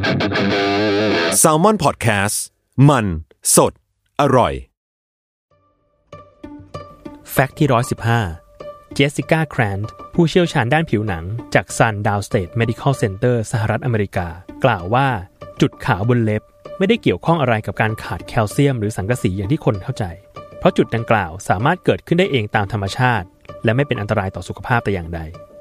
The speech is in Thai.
Salmon Podcast มันสดอร่อยแฟกต์ที่115เจสสิก้าแครนต์ผู้เชี่ยวชาญด้านผิวหนังจากซันดาวน์สเตทเมดิคอลเซ็นเตอร์สหรัฐอเมริกากล่าวว่าจุดขาวบนเล็บไม่ได้เกี่ยวข้องอะไรกับการขาดแคลเซียมหรือสังกะสีอย่างที่คนเข้าใจเพราะจุดดังกล่าวสามารถเกิดขึ้นได้เองตามธรรมชาติและไม่เป็นอันตรายต่อสุขภาพแต่อย่างใด